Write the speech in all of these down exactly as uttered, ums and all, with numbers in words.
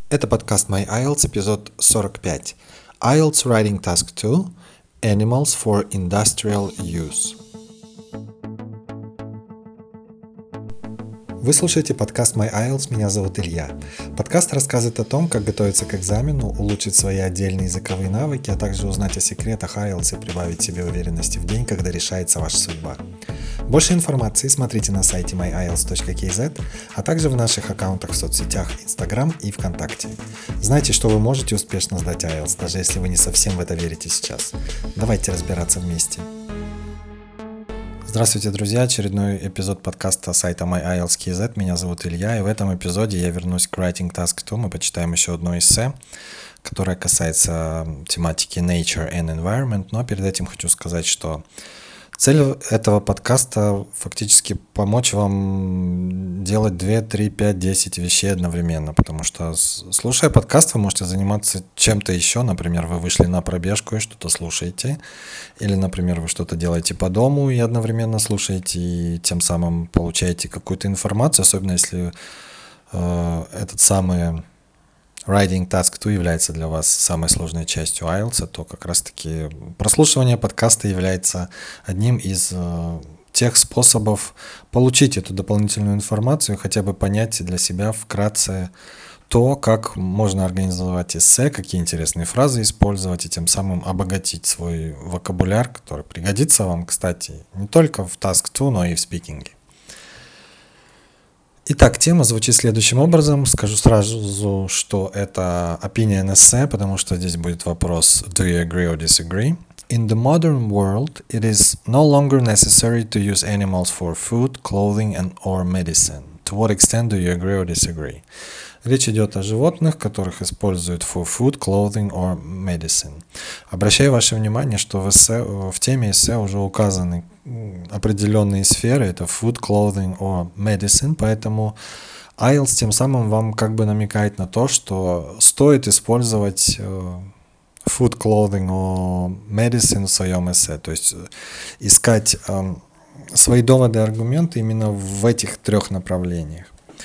Это подкаст My IELTS, эпизод сорок пять. IELTS Writing Task two. Animals for Industrial Use. Вы слушаете подкаст My IELTS, меня зовут Илья. Подкаст рассказывает о том, как готовиться к экзамену, улучшить свои отдельные языковые навыки, а также узнать о секретах IELTS и прибавить себе уверенности в день, когда решается ваша судьба. Больше информации смотрите на сайте my I E L T S точка кей зет, а также в наших аккаунтах в соцсетях Instagram и ВКонтакте. Знайте, что вы можете успешно сдать IELTS, даже если вы не совсем в это верите сейчас. Давайте разбираться вместе. Здравствуйте, друзья! Очередной эпизод подкаста сайта my I E L T S точка кей зет. Меня зовут Илья, и в этом эпизоде я вернусь к Writing Task two. Мы почитаем еще одно эссе, которое касается тематики Nature and Environment, но перед этим хочу сказать, что цель этого подкаста фактически помочь вам делать два, три, пять, десять вещей одновременно, потому что, слушая подкаст, вы можете заниматься чем-то еще. Например, вы вышли на пробежку и что-то слушаете, или, например, вы что-то делаете по дому и одновременно слушаете, и тем самым получаете какую-то информацию, особенно если э, этот самый Writing Task two является для вас самой сложной частью IELTS, то как раз-таки прослушивание подкаста является одним из э, тех способов получить эту дополнительную информацию, хотя бы понять для себя вкратце то, как можно организовать эссе, какие интересные фразы использовать, и тем самым обогатить свой вокабуляр, который пригодится вам, кстати, не только в Task two, но и в спикинге. Итак, тема звучит следующим образом. Скажу сразу, что это opinion essay, потому что здесь будет вопрос do you agree or disagree? In the modern world, it is no longer necessary to use animals for food, clothing and or medicine. To what extent do you agree or disagree? Речь идет о животных, которых используют for food, clothing or medicine. Обращаю ваше внимание, что в, эссе, в теме эссе уже указаны определенные сферы, это food, clothing or medicine, поэтому IELTS тем самым вам как бы намекает на то, что стоит использовать food, clothing or medicine в своем эссе, то есть искать свои доводы и аргументы именно в этих трех направлениях.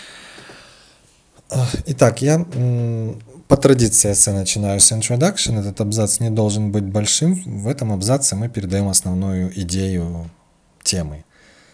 Итак, я по традиции эссе начинаю с introduction. Этот абзац не должен быть большим. В этом абзаце мы передаем основную идею темы.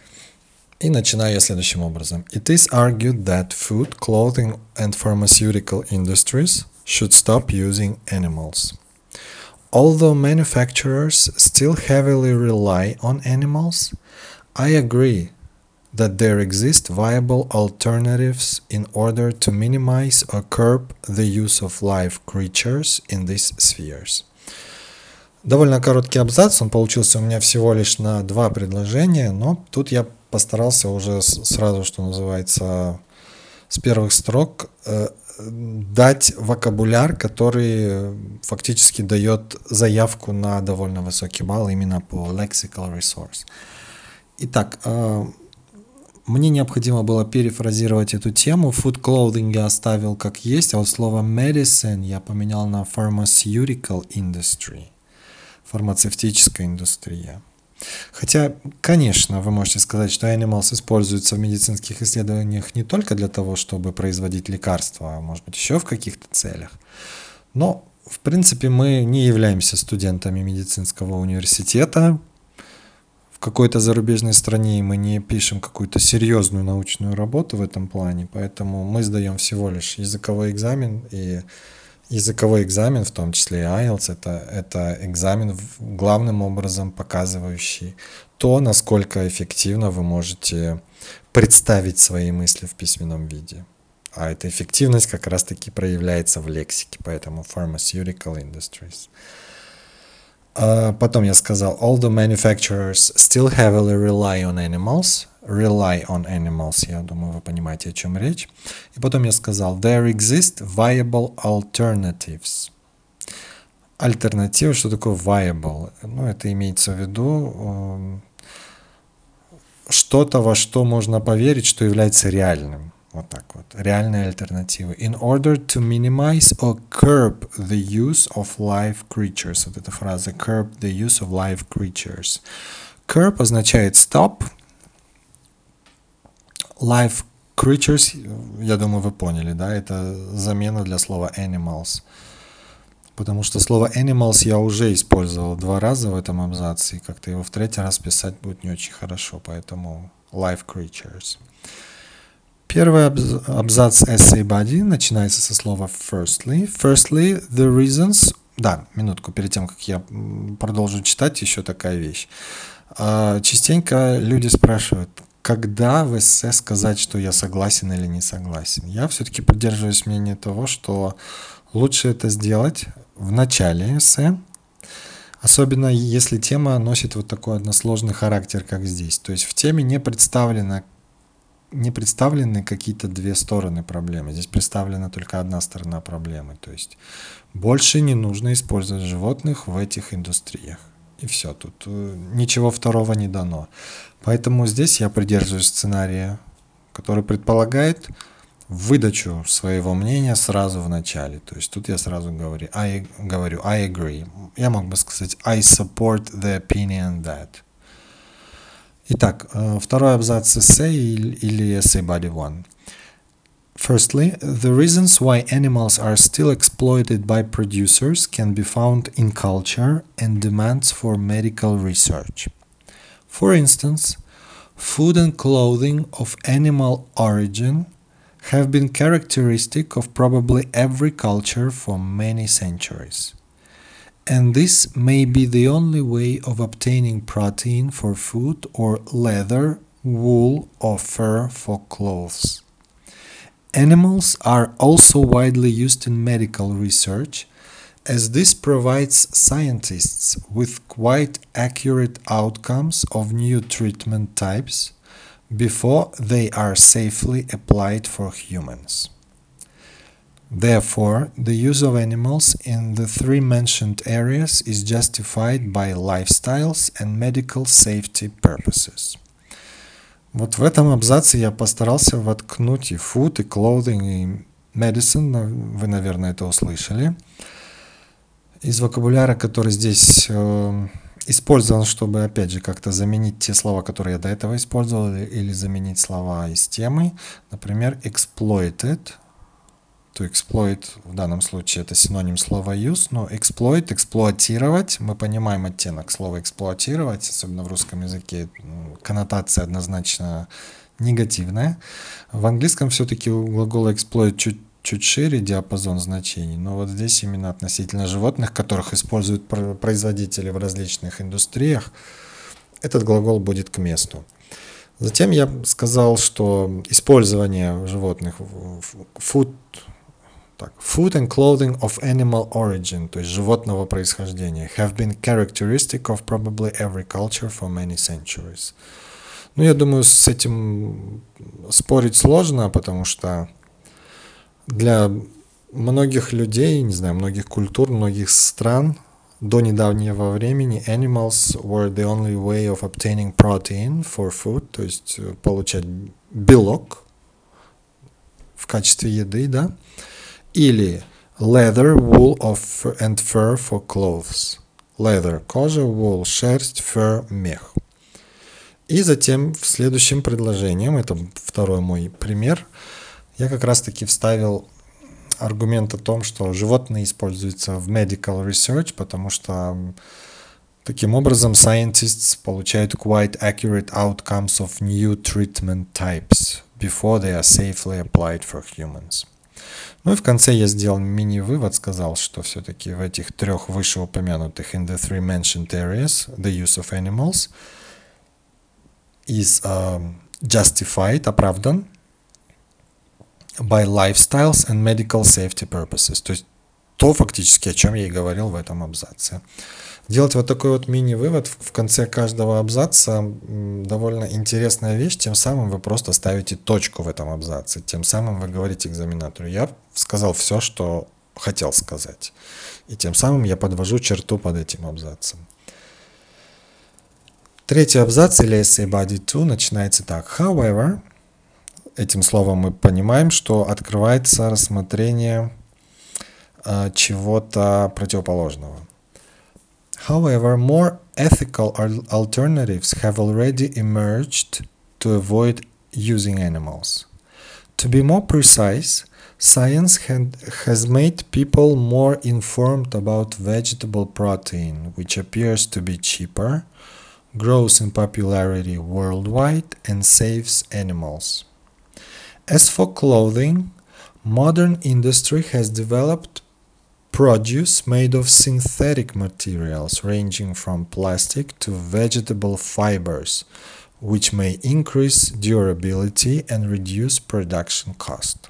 И начинаю я следующим образом. It is argued that food, clothing and pharmaceutical industries should stop using animals. Although manufacturers still heavily rely on animals, I agree that there exist viable alternatives in order to minimize or curb the use of live creatures in these spheres. Довольно короткий абзац, он получился у меня всего лишь на два предложения, но тут я постарался уже сразу, что называется, с первых строк э, дать вокабуляр, который фактически дает заявку на довольно высокий балл именно по lexical resource. Итак, э, мне необходимо было перефразировать эту тему. Food, clothing я оставил как есть, а вот слово medicine я поменял на pharmaceutical industry. Фармацевтическая индустрия. Хотя, конечно, вы можете сказать, что animals используются в медицинских исследованиях не только для того, чтобы производить лекарства, а может быть еще в каких-то целях. Но, в принципе, мы не являемся студентами медицинского университета в какой-то зарубежной стране, и мы не пишем какую-то серьезную научную работу в этом плане, поэтому мы сдаем всего лишь языковой экзамен, и языковой экзамен, в том числе и IELTS, это, это экзамен, главным образом показывающий то, насколько эффективно вы можете представить свои мысли в письменном виде. А эта эффективность как раз-таки проявляется в лексике, поэтому pharmaceutical industries. Uh, потом я сказал, although manufacturers still heavily rely on animals, rely on animals, я думаю, вы понимаете, о чем речь. И потом я сказал, there exist viable alternatives. Альтернатива, что такое viable? Ну, это имеется в виду э, что-то, во что можно поверить, что является реальным. Вот так вот. Реальные альтернативы. In order to minimize or curb the use of live creatures. Вот эта фраза curb the use of live creatures. Curb означает stop. Live creatures, я думаю, вы поняли, да, это замена для слова animals. Потому что слово animals я уже использовал два раза в этом абзаце, и как-то его в третий раз писать будет не очень хорошо, поэтому live creatures. Первый абзац essay body начинается со слова firstly. Firstly, the reasons... Да, минутку, перед тем, как я продолжу читать, еще такая вещь. Частенько люди спрашивают, когда в эссе сказать, что я согласен или не согласен. Я все-таки придерживаюсь мнения того, что лучше это сделать в начале эссе, особенно если тема носит вот такой односложный характер, как здесь. То есть в теме не представлено не представлены какие-то две стороны проблемы. Здесь представлена только одна сторона проблемы. То есть больше не нужно использовать животных в этих индустриях. И все, тут ничего второго не дано. Поэтому здесь я придерживаюсь сценария, который предполагает выдачу своего мнения сразу в начале. То есть тут я сразу говорю I, говорю I agree. Я мог бы сказать I support the opinion that. Итак, второй абзац эссе или essay body one. Firstly, the reasons why animals are still exploited by producers can be found in culture and demands for medical research. For instance, food and clothing of animal origin have been characteristic of probably every culture for many centuries. And this may be the only way of obtaining protein for food or leather, wool, or fur for clothes. Animals are also widely used in medical research, as this provides scientists with quite accurate outcomes of new treatment types before they are safely applied for humans. Therefore, the use of animals in the three mentioned areas is justified by lifestyles and medical safety purposes. Вот в этом абзаце я постарался воткнуть и food, и clothing, и medicine, вы, наверное, это услышали. Из вокабуляра, который здесь э, использован, чтобы, опять же, как-то заменить те слова, которые я до этого использовал, или заменить слова из темы. Например, exploited. To exploit в данном случае это синоним слова use, но exploit, эксплуатировать, мы понимаем оттенок слова эксплуатировать, особенно в русском языке коннотация однозначно негативная. В английском все-таки у глагола exploit чуть, чуть шире диапазон значений, но вот здесь именно относительно животных, которых используют производители в различных индустриях, этот глагол будет к месту. Затем я сказал, что использование животных food Так, food and clothing of animal origin, то есть животного происхождения, have been characteristic of probably every culture for many centuries. Ну, я думаю, с этим спорить сложно, потому что для многих людей, не знаю, многих культур, многих стран до недавнего времени animals were the only way of obtaining protein for food, то есть получать белок в качестве еды, да, или leather, wool of and fur for clothes. Leather – кожа, wool – шерсть, fur – мех. И затем в следующем предложении, это второй мой пример, я как раз-таки вставил аргумент о том, что животные используются в medical research, потому что таким образом scientists получают quite accurate outcomes of new treatment types before they are safely applied for humans. Ну и в конце я сделал мини-вывод, сказал, что все-таки в этих трех вышеупомянутых in the three mentioned areas the use of animals is um, justified, оправдан by lifestyles and medical safety purposes. То есть то фактически, о чем я и говорил в этом абзаце. Делать вот такой вот мини-вывод в конце каждого абзаца довольно интересная вещь, тем самым вы просто ставите точку в этом абзаце, тем самым вы говорите экзаменатору: я сказал все, что хотел сказать, и тем самым я подвожу черту под этим абзацем. Третий абзац или essay body two начинается так: however, этим словом мы понимаем, что открывается рассмотрение э, чего-то противоположного. However, more ethical alternatives have already emerged to avoid using animals. To be more precise, science had, has made people more informed about vegetable protein, which appears to be cheaper, grows in popularity worldwide, and saves animals. As for clothing, modern industry has developed produce made of synthetic materials ranging from plastic to vegetable fibers, which may increase durability and reduce production cost.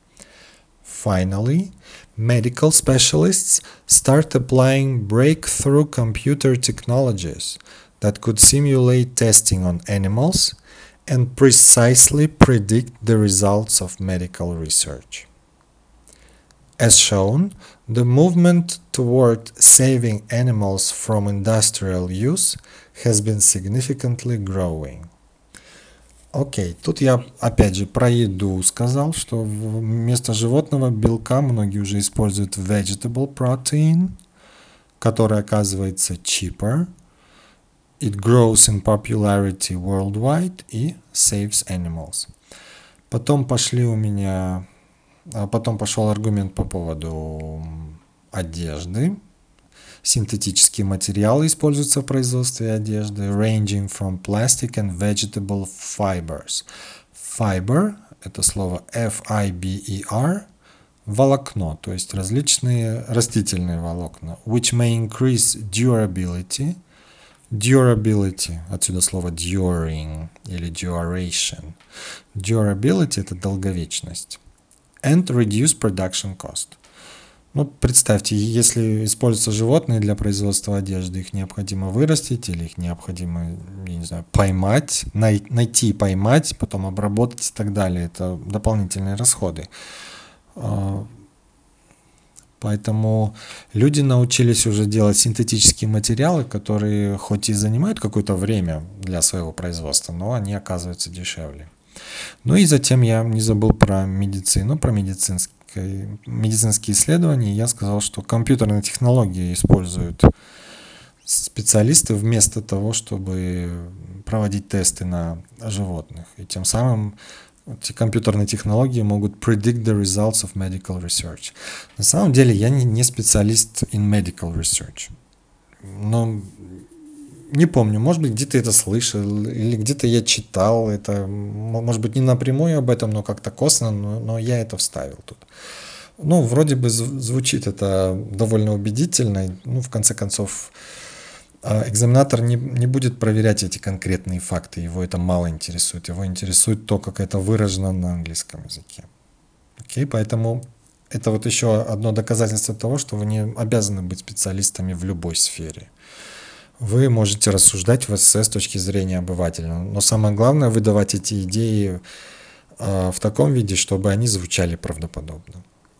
Finally, medical specialists start applying breakthrough computer technologies that could simulate testing on animals and precisely predict the results of medical research. As shown, the movement toward saving animals from industrial use has been significantly growing. Окей, тут я опять же про еду сказал, что вместо животного белка многие уже используют vegetable protein, который оказывается cheaper, it grows in popularity worldwide и saves animals. Потом пошли у меня, потом пошел аргумент по поводу одежды. Синтетические материалы используются в производстве одежды, ranging from plastic and vegetable fibers. Fiber – это слово эф ай би и ар, волокно, то есть различные растительные волокна, which may increase durability. Durability, отсюда слово during или duration. Durability – это долговечность. And reduce production cost. Ну, представьте, если используются животные для производства одежды, их необходимо вырастить или их необходимо, я не знаю, поймать, най- найти, поймать, потом обработать и так далее. Это дополнительные расходы. Поэтому люди научились уже делать синтетические материалы, которые хоть и занимают какое-то время для своего производства, но они оказываются дешевле. Ну и затем я не забыл про медицину, про медицинские медицинские исследования. Я сказал, что компьютерные технологии используют специалисты вместо того, чтобы проводить тесты на животных. И тем самым эти компьютерные технологии могут predict the results of medical research. На самом деле я не, не специалист in medical research. Но не помню, может быть, где-то это слышал, или где-то я читал это, может быть, не напрямую об этом, но как-то косвенно, но, но я это вставил тут. Ну, вроде бы звучит это довольно убедительно. Ну, в конце концов, экзаменатор не, не будет проверять эти конкретные факты, его это мало интересует. Его интересует то, как это выражено на английском языке. Окей, поэтому это вот еще одно доказательство того, что вы не обязаны быть специалистами в любой сфере. Вы можете рассуждать в эссе с точки зрения обывателя, но самое главное выдавать эти идеи э, в таком виде, чтобы они звучали правдоподобно.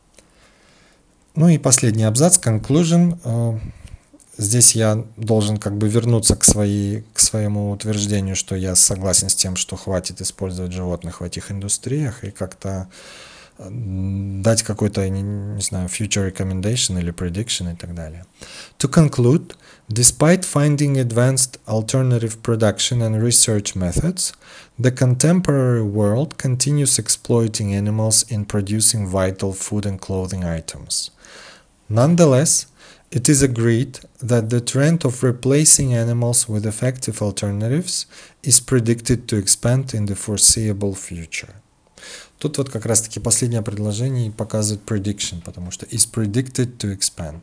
Ну и последний абзац, conclusion. Э, здесь я должен как бы вернуться к, своей, к своему утверждению, что я согласен с тем, что хватит использовать животных в этих индустриях и как-то дать какой-то, не, не знаю, future recommendation или prediction и так далее. To conclude, despite finding advanced alternative production and research methods, the contemporary world continues exploiting animals in producing vital food and clothing items. Nonetheless, it is agreed that the trend of replacing animals with effective alternatives is predicted to expand in the foreseeable future. Тут вот как раз-таки последнее предложение показывает prediction, потому что is predicted to expand.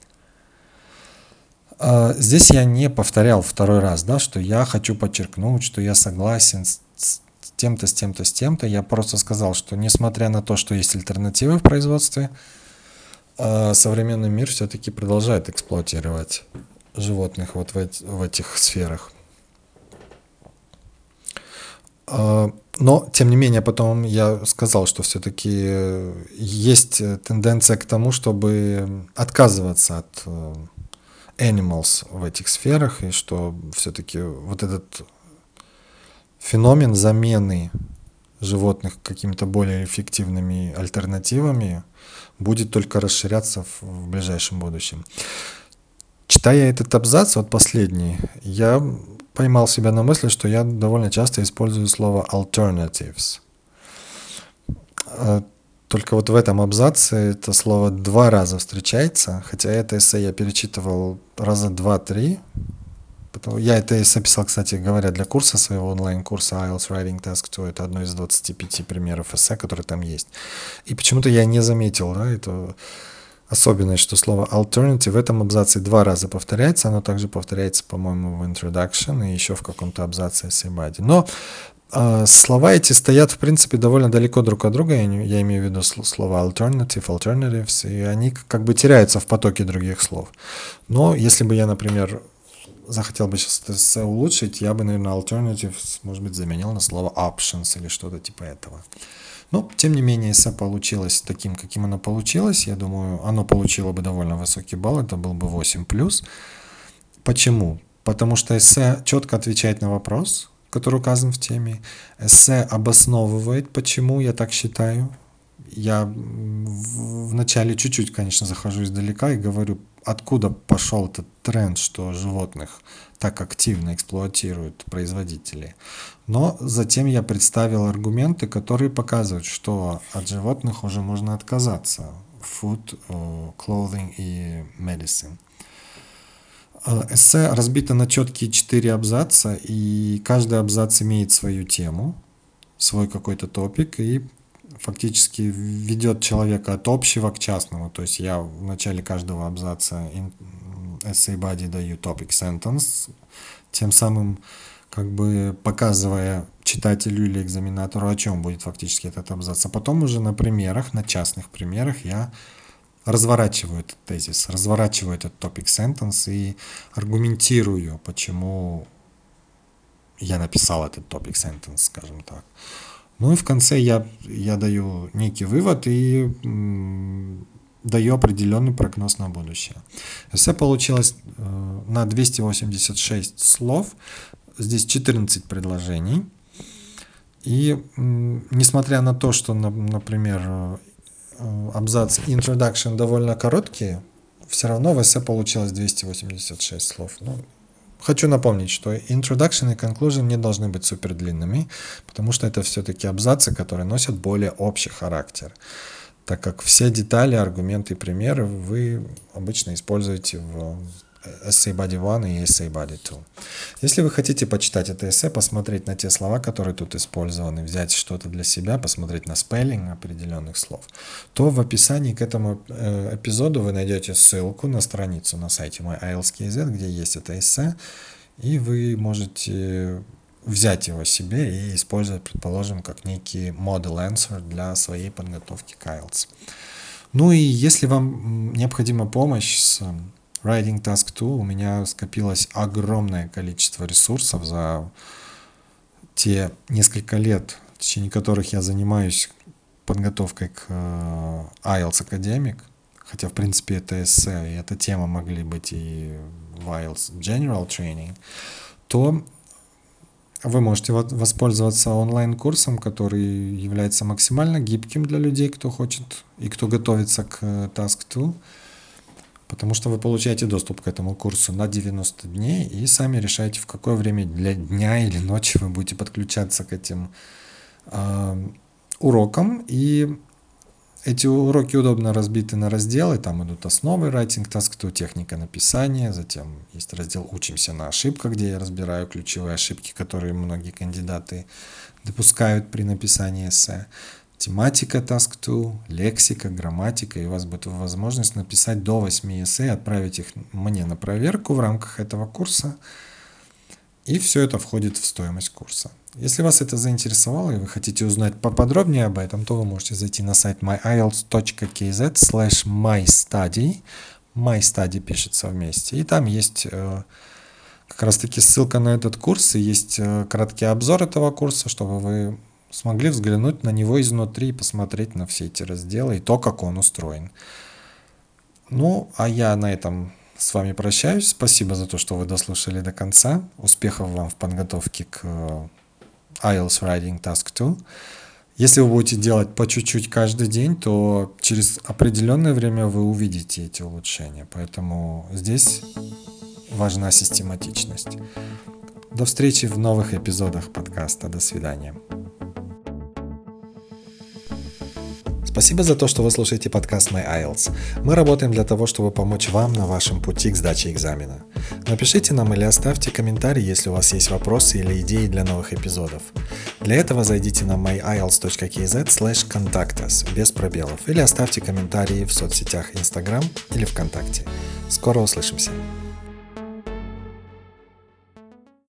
Здесь я не повторял второй раз, да, что я хочу подчеркнуть, что я согласен с тем-то, с тем-то, с тем-то. Я просто сказал, что несмотря на то, что есть альтернативы в производстве, современный мир все-таки продолжает эксплуатировать животных вот в, эти, в этих сферах. Но, тем не менее, потом я сказал, что все-таки есть тенденция к тому, чтобы отказываться от animals в этих сферах, и что все-таки вот этот феномен замены животных какими-то более эффективными альтернативами будет только расширяться в, в ближайшем будущем. Читая этот абзац, вот последний, я поймал себя на мысли, что я довольно часто использую слово alternatives. А, Только вот в этом абзаце это слово два раза встречается, хотя это эссе я перечитывал раза два-три. Потому- Я это эссе писал, кстати говоря, для курса своего онлайн-курса IELTS Writing Task два. Это одно из двадцати пяти примеров эссе, которые там есть. И почему-то я не заметил, да, это особенность, что слово alternative в этом абзаце два раза повторяется. Оно также повторяется, по-моему, в introduction и еще в каком-то абзаце essay body. Но а, слова эти стоят, в принципе, довольно далеко друг от друга. Я, не- я имею в виду сл- слова alternative, alternatives, и они к- как бы теряются в потоке других слов. Но если бы я, например, захотел бы сейчас это эссе улучшить, я бы, наверное, alternatives, может быть, заменил на слово options или что-то типа этого. Но, тем не менее, эссе получилось таким, каким оно получилось. Я думаю, оно получило бы довольно высокий балл, это был бы восемь плюс. Почему? Потому что эссе четко отвечает на вопрос, который указан в теме. Эссе обосновывает, почему я так считаю. Я в- вначале чуть-чуть, конечно, захожу издалека и говорю, откуда пошел этот тренд, что животных так активно эксплуатируют производители. Но затем я представил аргументы, которые показывают, что от животных уже можно отказаться. Food, э, clothing и medicine. Э, Эссе разбито на четкие четыре абзаца, и каждый абзац имеет свою тему, свой какой-то топик, и фактически ведет человека от общего к частному. То есть я в начале каждого абзаца in- essay body даю topic sentence, тем самым как бы показывая читателю или экзаменатору, о чем будет фактически этот абзац. А потом уже на примерах, на частных примерах я разворачиваю этот тезис, разворачиваю этот topic sentence и аргументирую, почему я написал этот topic sentence, скажем так. Ну и в конце я, я даю некий вывод и м, даю определенный прогноз на будущее. Эссе получилось э, на двести восемьдесят шесть слов, здесь четырнадцать предложений. И м, несмотря на то, что, на- например, э, абзац и introduction довольно короткие, все равно в эссе получилось двести восемьдесят шесть слов. Ну, хочу напомнить, что introduction и conclusion не должны быть супер длинными, потому что это все-таки абзацы, которые носят более общий характер, так как все детали, аргументы и примеры вы обычно используете в Essay Body один и Essay Body два. Если вы хотите почитать это эссе, посмотреть на те слова, которые тут использованы, взять что-то для себя, посмотреть на спеллинг определенных слов, то в описании к этому э, эпизоду вы найдете ссылку на страницу на сайте мой ай эл ти эс точка кей зет, где есть это эссе, и вы можете взять его себе и использовать, предположим, как некий model answer для своей подготовки к ай эл ти эс. Ну и если вам необходима помощь с Writing Task два, у меня скопилось огромное количество ресурсов за те несколько лет, в течение которых я занимаюсь подготовкой к ай эл ти эс Academic, хотя, в принципе, это эссе, и эта тема могли быть и в ай эл ти эс General Training, то вы можете воспользоваться онлайн-курсом, который является максимально гибким для людей, кто хочет и кто готовится к Task два, потому что вы получаете доступ к этому курсу на девяносто дней и сами решаете, в какое время для дня или ночи вы будете подключаться к этим э, урокам. И эти уроки удобно разбиты на разделы. Там идут основы Writing Task два, техника написания. Затем есть раздел «Учимся на ошибках», где я разбираю ключевые ошибки, которые многие кандидаты допускают при написании эссе. Тематика Task два, лексика, грамматика, и у вас будет возможность написать до восьми эссе и отправить их мне на проверку в рамках этого курса. И все это входит в стоимость курса. Если вас это заинтересовало и вы хотите узнать поподробнее об этом, то вы можете зайти на сайт мой ай эл ти эс точка кей зет слэш майстади. MyStudy пишется вместе. И там есть э, как раз таки ссылка на этот курс, и есть э, краткий обзор этого курса, чтобы вы смогли взглянуть на него изнутри и посмотреть на все эти разделы и то, как он устроен. Ну, а я на этом с вами прощаюсь. Спасибо за то, что вы дослушали до конца. Успехов вам в подготовке к ай эл ти эс Writing Task два. Если вы будете делать по чуть-чуть каждый день, то через определенное время вы увидите эти улучшения. Поэтому здесь важна систематичность. До встречи в новых эпизодах подкаста. До свидания. Спасибо за то, что вы слушаете подкаст My ай эл ти эс. Мы работаем для того, чтобы помочь вам на вашем пути к сдаче экзамена. Напишите нам или оставьте комментарий, если у вас есть вопросы или идеи для новых эпизодов. Для этого зайдите на my i e l t s dot k z slash contact us без пробелов или оставьте комментарии в соцсетях Instagram или ВКонтакте. Скоро услышимся!